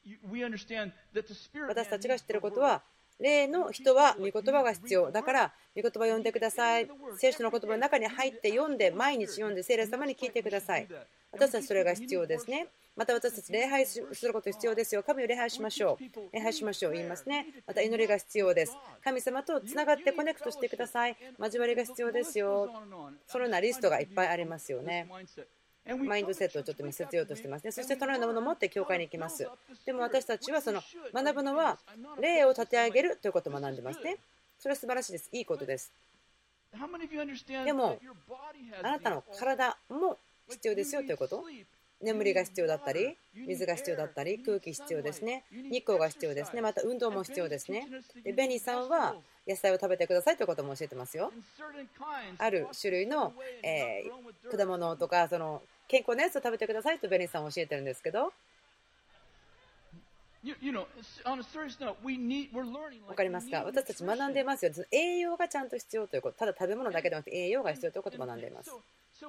Speaker 1: 私たちが知っていることは、霊の人は御言葉が必要だから、御言葉を読んでください。聖書の言葉の中に入って読んで、毎日読んで聖霊様に聞いてください。私たちそれが必要ですね。また私たち礼拝すること必要ですよ。神を礼拝しましょう。礼拝しましょう。言いますね。また祈りが必要です。神様とつながってコネクトしてください。交わりが必要ですよ。そのようなリストがいっぱいありますよね。マインドセットをちょっと見せようとしてますね。そしてそのようなものを持って教会に行きます。でも私たちは学ぶのは霊を立て上げるということを学んでますね。それは素晴らしいです。いいことです。でもあなたの体も必要ですよということ。眠りが必要だったり、水が必要だったり、空気必要ですね。日光が必要ですね。また運動も必要ですね。でベニーさんは野菜を食べてくださいということも教えてますよ。ある種類の、果物とか健康なやつを食べてくださいとベニーさんは教えてるんですけど、分かりますか。私たち学んでいますよ。栄養がちゃんと必要ということ。ただ食べ物だけではなくて栄養が必要ということを学んでいます。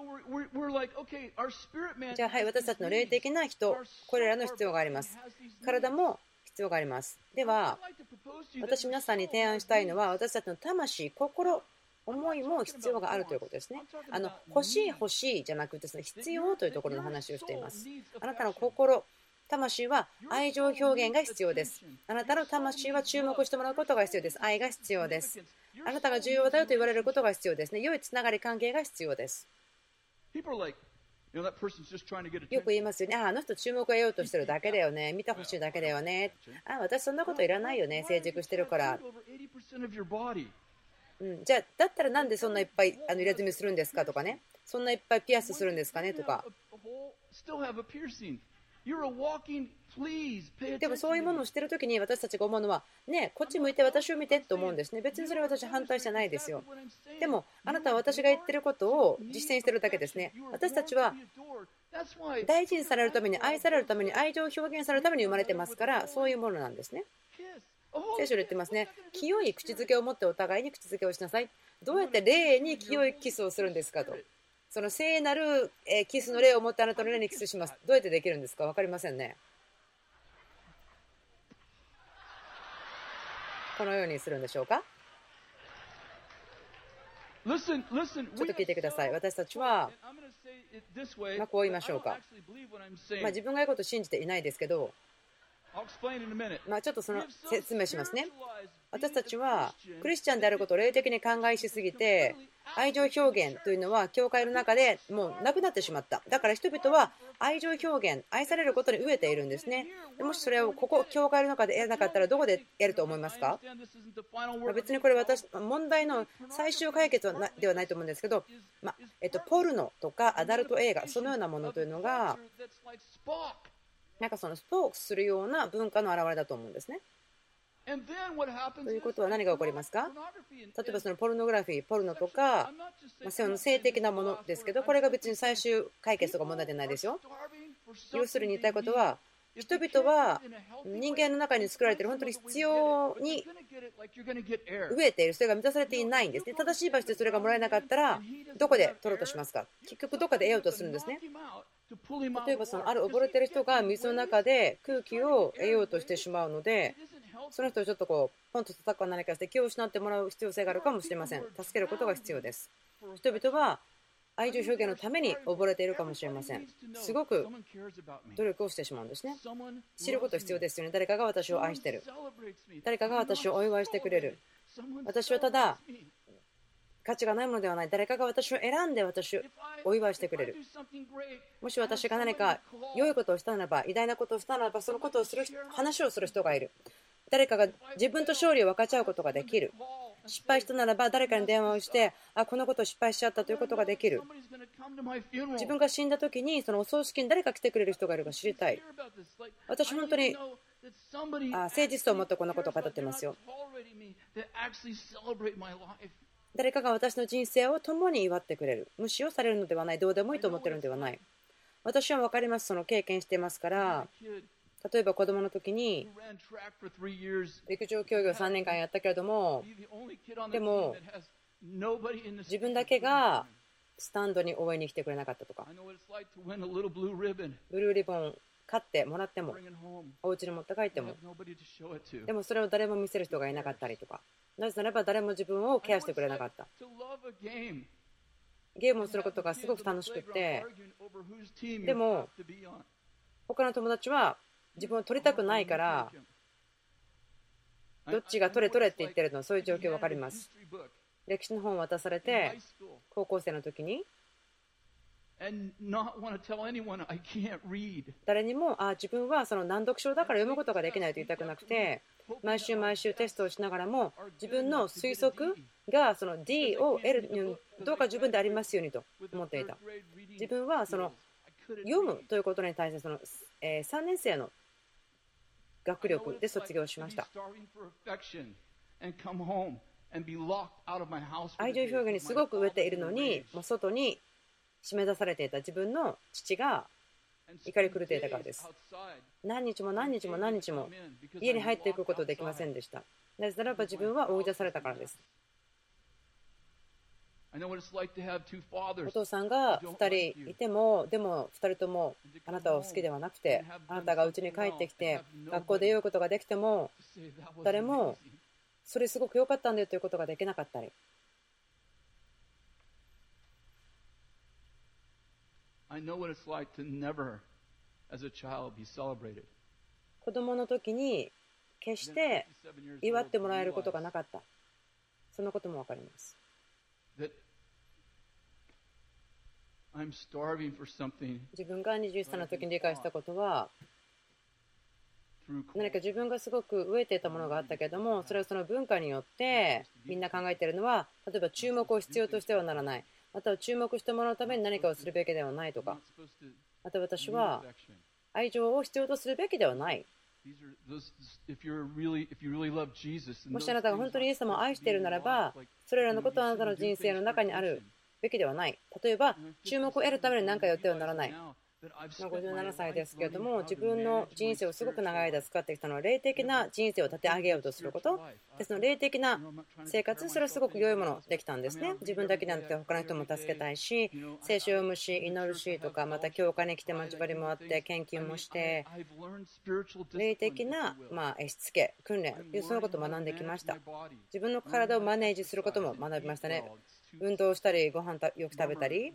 Speaker 1: じゃあ、はい、私たちの霊的な人、これらの必要があります。体も必要があります。では、私皆さんに提案したいのは、私たちの魂、心、思いも必要があるということですね。欲しいじゃなくて、必要というところの話をしています。あなたの心、魂は愛情表現が必要です。あなたの魂は注目してもらうことが必要です。愛が必要です。あなたが重要だよと言われることが必要ですね。良いつながり関係が必要です。よく言いますよね。あの人注目を得ようとしてるだけだよね。見てほしいだけだよね。私そんなこといらないよね。成熟してるから。じゃあだったらなんでそんないっぱい入れ墨するんですかとかね。そんないっぱいピアスするんですかねとか。でもそういうものをしているときに私たちが思うのはね、こっち向いて私を見てと思うんですね。別にそれは私反対じゃないですよ。でもあなたは私が言ってることを実践しているだけですね。私たちは大事にされるために、愛されるために、愛情を表現されるために生まれてますから、そういうものなんですね。聖書で言ってますね。清い口づけを持ってお互いに口づけをしなさい。どうやって霊に清いキスをするんですかと。その聖なるキスの霊を持ってあなたの霊にキスします。どうやってできるんですか。分かりませんね。このようにするんでしょうか。ちょっと聞いてください。私たちは、こう言いましょうか。自分が言うことを信じていないですけど、ちょっと説明しますね。私たちはクリスチャンであることを霊的に考えしすぎて、 愛情表現というのは教会の中でもうなくなってしまった。だから人々は愛情表現、愛されることに飢えているんですね。もしそれをここ教会の中で得なかったらどこで得ると思いますか？別にこれ問題の最終解決ではないと思うんですけど、ポルノとかアダルト映画、そのようなものというのがなんかそのスポークするような文化の表れだと思うんですね。ということは何が起こりますか？例えばそのポルノグラフィー、ポルノとか、その性的なものですけど、これが別に最終解決とか問題じゃないですよ。要するに言いたいことは、人々は人間の中に作られている本当に必要に飢えている、それが満たされていないんですね。正しい場所でそれがもらえなかったら、どこで取ろうとしますか？結局どこで得ようとするんですね。例えばある溺れている人が水の中で空気を得ようとしてしまうので、その人をちょっとポンと叩くか何かして気を失ってもらう必要性があるかもしれません。助けることが必要です。人々は愛情表現のために溺れているかもしれません。すごく努力をしてしまうんですね。知ること必要ですよね。誰かが私を愛している。誰かが私をお祝いしてくれる。私はただ価値がないものではない。誰かが私を選んで私をお祝いしてくれる。もし私が何か良いことをしたならば、偉大なことをしたならば、そのことを話をする人がいる。誰かが自分と勝利を分かち合うことができる。失敗したならば誰かに電話をして、このことを失敗しちゃったということができる。自分が死んだ時にそのお葬式に誰か来てくれる人がいるか知りたい。私本当に誠実と思ってこんなことを語ってますよ。誰かが私の人生を共に祝ってくれる。無視をされるのではない。どうでもいいと思っているのではない。私は分かります。その経験していますから。例えば子供の時に陸上競技を3年間やったけれども、でも自分だけがスタンドに応援に来てくれなかったとか、ブルーリボン買ってもらってもお家に持って帰っても、でもそれを誰も見せる人がいなかったりとか、なぜならば誰も自分をケアしてくれなかった。ゲームをすることがすごく楽しくて、でも他の友達は自分を取りたくないからどっちが取れ取れって言ってるの、そういう状況分かります。歴史の本を渡されて高校生の時に誰にも自分はその難読症だから読むことができないと言いたくなくて、毎週毎週テストをしながらも自分の推測がその D を得るにどうか自分でありますようにと思っていた。自分はその読むということに対してその3年生の学力で卒業しました。愛情表現にすごく飢えているのに、もう外に締め出されていた自分の父が怒り狂っていたからです。何日も何日も何日も家に入っていくことができませんでした。なぜならば自分は追い出されたからです。お父さんが2人いても、でも2人ともあなたを好きではなくて、あなたが家に帰ってきて学校で言うことができても、誰もそれすごく良かったんだよということができなかったり、子供の時に決して祝ってもらえることがなかった、そのことも分かります。自分が21歳の時に理解したことは、何か自分がすごく飢えていたものがあったけれども、それはその文化によってみんな考えているのは、例えば注目を必要としてはならない、または注目してもらうために何かをするべきではないとか、また私は愛情を必要とするべきではない。もしあなたが本当にイエス様を愛しているならば、それらのことはあなたの人生の中にあるべきではない。例えば注目を得るために何かやってはならない。57歳ですけれども、自分の人生をすごく長い間使ってきたのは霊的な人生を立て上げようとすることで、その霊的な生活、それはすごく良いものできたんですね。自分だけじゃなくて他の人も助けたいし、聖書を読むし、祈るしとか、また教会に来て待ち針もあって献金もして、霊的なしつけ、訓練、そのことを学んできました。自分の体をマネージすることも学びましたね。運動したり、ご飯よく食べたり、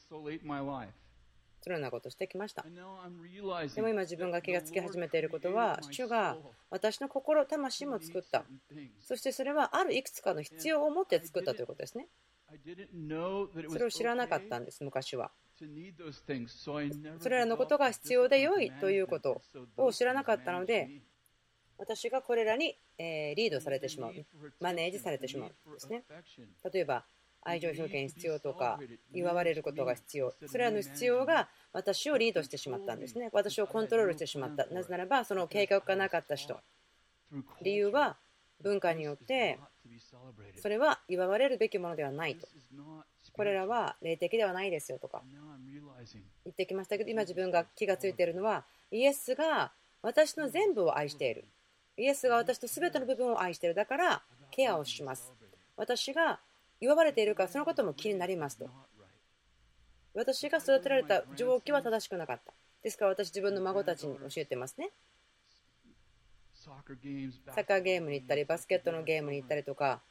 Speaker 1: そのようなことをしてきました。でも今自分が気がつき始めていることは、主が私の心、魂も作った。そしてそれはあるいくつかの必要を持って作ったということですね。 それを知らなかったんです、昔は。それらのことが必要で良いということを知らなかったので、私がこれらにリードされてしまう、マネージされてしまうんですね。例えば、愛情表現必要とか、祝われることが必要、それらの必要が私をリードしてしまったんですね。私をコントロールしてしまった。なぜならば、その計画がなかった人。理由は、文化によって、それは祝われるべきものではないと。これらは霊的ではないですよとか言ってきましたけど、今自分が気がついているのは、イエスが私の全部を愛している。イエスが私の全ての部分を愛している。だからケアをします。私が祝われているか、そのことも気になりますと。私が育てられた状況は正しくなかった。ですから私、自分の孫たちに教えてますね。サッカーゲームに行ったり、バスケットのゲームに行ったりとか。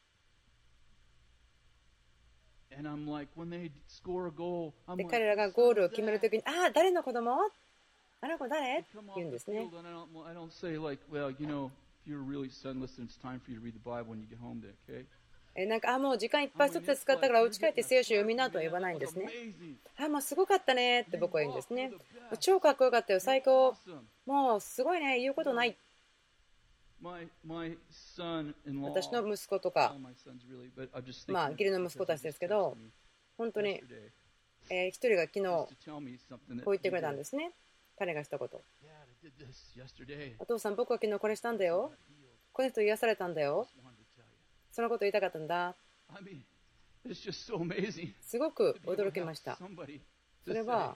Speaker 1: で、彼らがゴールを決めるときに、ああ、誰の子供？あの子誰？って言うんですね。なんか、もう時間いっぱい外で使ったから、家帰って聖書読みなとは言わないんですね。もうすごかったねって僕は言うんですね。超かっこよかったよ、最高。もうすごいね、言うことない。私の息子とか、義理の息子たちですけど、本当に、一人が昨日、こう言ってくれたんですね。彼がしたこと。お父さん、僕は昨日これしたんだよ。この人癒されたんだよ。そのこと言いたかったんだ。すごく驚きました。それは、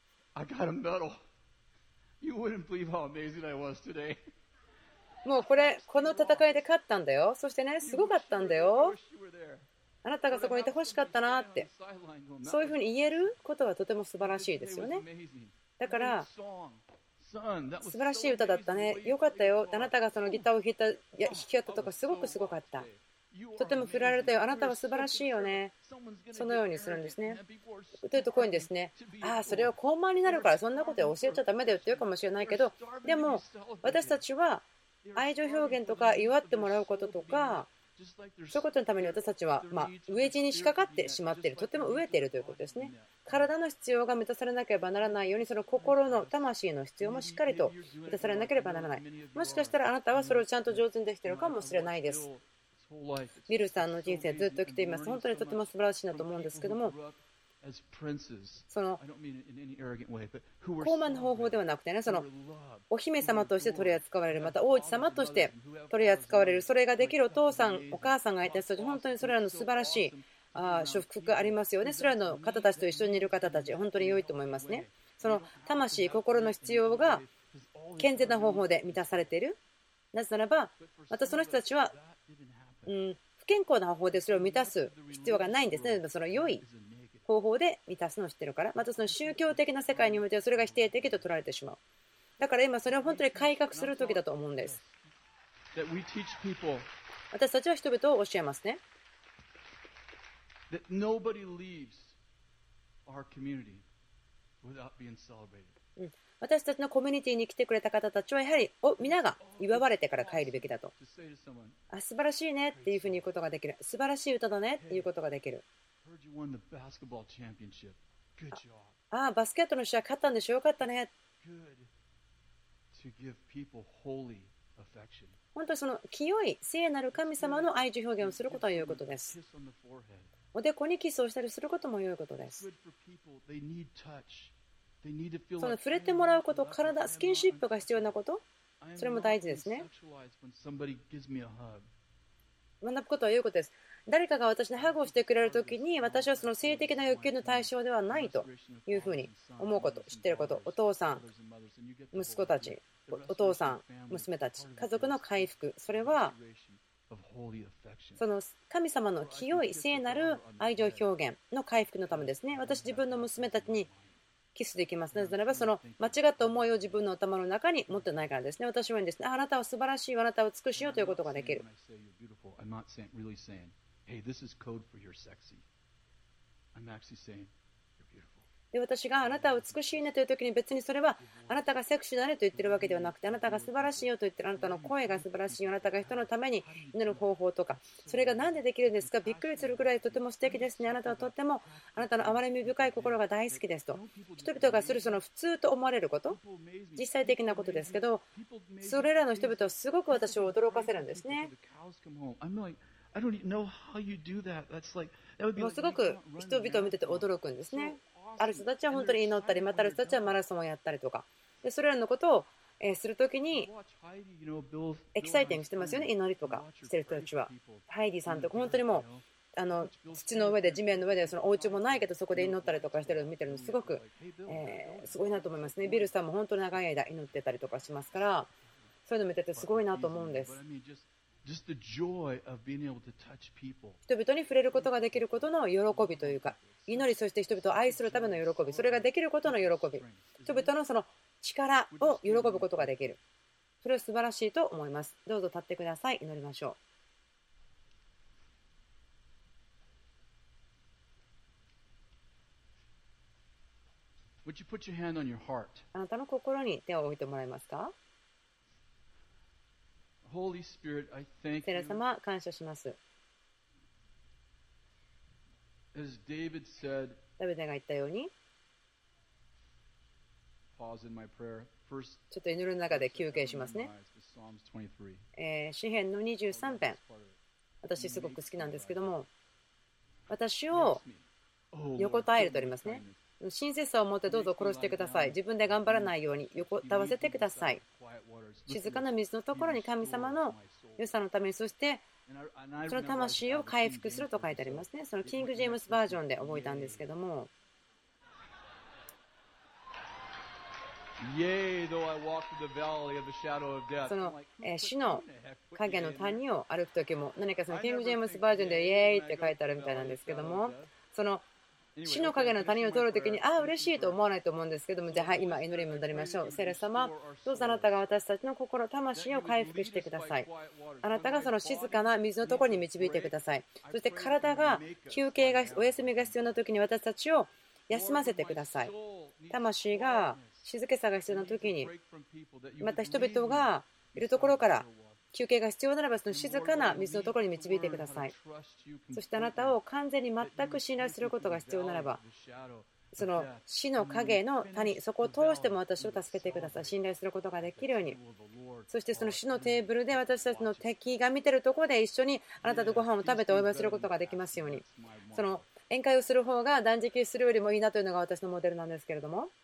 Speaker 1: もうこの戦いで勝ったんだよ。そしてね、すごかったんだよ。あなたがそこにいて欲しかったなって。そういうふうに言えることはとても素晴らしいですよね。だから、素晴らしい歌だったね。よかったよ。あなたがそのギターを弾き語ったとかすごくすごかった。とても振られたよ。あなたは素晴らしいよね。そのようにするんですね。というとこういうんですね。それを高慢になるからそんなことは教えちゃダメだよって言うかもしれないけど、でも私たちは愛情表現とか祝ってもらうこととか、そういうことのために私たちは飢え死に仕掛かってしまっている。とても飢えているということですね。体の必要が満たされなければならないように、その心の魂の必要もしっかりと満たされなければならない。もしかしたらあなたはそれをちゃんと上手にできているかもしれないです。ビルさんの人生ずっと来ています。本当にとても素晴らしいなと思うんですけども、その高慢な方法ではなくてね、そのお姫様として取り扱われる、また王子様として取り扱われる、それができるお父さんお母さんがいた人たち、本当にそれらの素晴らしい祝福がありますよね。それらの方たちと一緒にいる方たち、本当に良いと思いますね。その魂、心の必要が健全な方法で満たされている。なぜならば、またその人たちは不健康な方法でそれを満たす必要がないんですね。その良い方法で満たすのを知ってるから。またその宗教的な世界においてはそれが否定的と取られてしまう。だから今それを本当に改革する時だと思うんです。私たちは人々を教えますね。私たちのコミュニティに来てくれた方たちはやはり皆が祝われてから帰るべきだと。素晴らしいねっていうふうに言うことができる。素晴らしい歌だねっていうことができる。バスケットの試合勝ったんでしょ、よかったね。本当にその清い聖なる神様の愛情表現をすることは良いことです。おでこにキスをしたりすることも良いことです。その触れてもらうこと、体、スキンシップが必要なこと、それも大事ですね。学ぶことは良いことです。誰かが私にハグをしてくれるときに、私はその性的な欲求の対象ではないというふうに思うこと、知っていること、お父さん、息子たち、お父さん、娘たち、家族の回復、それはその神様の清い聖なる愛情表現の回復のためですね。私、自分の娘たちにキスできます。なぜならば、その間違った思いを自分の頭の中に持ってないからですね。私は言うんですね。あなたは素晴らしい、あなたは美しいよということができる。 で、私があなたは美しいねという時に、別にそれはあなたがセクシーだねと言ってるわけではなくて、あなたが素晴らしいよと言ってる、あなたの声が素晴らしいよ、あなたが人のために祈る方法とか、それが何でできるんですか、びっくりするぐらいとても素敵ですね、あなたはとってもあなたの憐れみ深い心が大好きですと、人々がするその普通と思われること、実際的なことですけど、それらの人々はすごく私を驚かせるんですね。もうすごく人々を見てて驚くんですね。ある人たちは本当に祈ったり、またある人たちはマラソンをやったりとか、でそれらのことをするときにエキサイティングしてますよね、祈りとかしてる人たちは。ハイディさんとか本当にもう土の上で地面の上でそのお家もないけどそこで祈ったりとかしてるのを見てるのすごく、すごいなと思いますね。ビルさんも本当に長い間祈ってたりとかしますから、そういうの見ててすごいなと思うんです。人々に触れることができることの喜びというか、祈り、そして人々を愛するための喜び、それができることの喜び、人々のその力を喜ぶことができる、それは素晴らしいと思います。どうぞ立ってください。祈りましょ
Speaker 2: う。
Speaker 1: あなたの心に手を置いてもらえますか。聖霊様、感謝します。ダビデが言ったように、ちょっと祈りの中で休憩しますね。詩編の23編、私すごく好きなんですけども、私を横たえるとありますね。親切さを持ってどうぞ殺してください。自分で頑張らないように横たわせてください。静かな水のところに神様の良さのために、そしてその魂を回復すると書いてありますね。そのキング・ジェームスバージョンで覚えたんですけども、その死の影の谷を歩くときも、何かそのキング・ジェームスバージョンでイエーイって書いてあるみたいなんですけども、その死の影の谷を通るときに、ああ、嬉しいと思わないと思うんですけども、じゃあ、はい、今、祈りに戻りましょう。聖霊様、どうぞあなたが私たちの心、魂を回復してください。あなたがその静かな水のところに導いてください。そして体が休憩が、お休みが必要なときに私たちを休ませてください。魂が静けさが必要なときに、また人々がいるところから休憩が必要ならば、その静かな水のところに導いてください。そしてあなたを完全に全く信頼することが必要ならば、その死の影の谷、そこを通しても私を助けてください。信頼することができるように。そしてその死のテーブルで私たちの敵が見ているところで一緒にあなたとご飯を食べてお祝いすることができますように。その宴会をする方が断食するよりもいいなというのが私のモデルなんですけれども、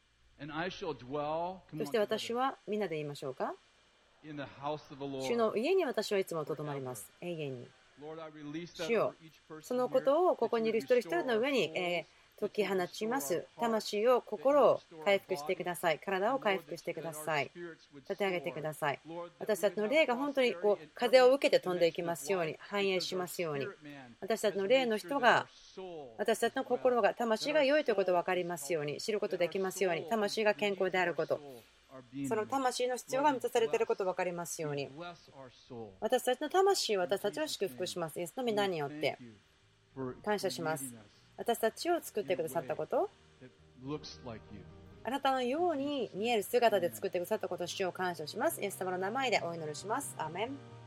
Speaker 1: そして私はみんなで言いましょうか。主の家に私はいつもとどまります。永遠に。主よ、そのことをここにいる一人一人の上に解き放ちます。魂を、心を回復してください。体を回復してください。立て上げてください。私たちの霊が本当に風を受けて飛んでいきますように、繁栄しますように。私たちの霊の人が、私たちの心が、魂が良いということを分かりますように、知ることできますように、魂が健康であること、その魂の必要が満たされていることが分かりますように、私たちの魂を私たちを祝福します。イエスの皆によって感謝します。私たちを作ってくださったこと、あなたのように見える姿で作ってくださったことを主を感謝します。イエス様の名前でお祈りします。アーメン。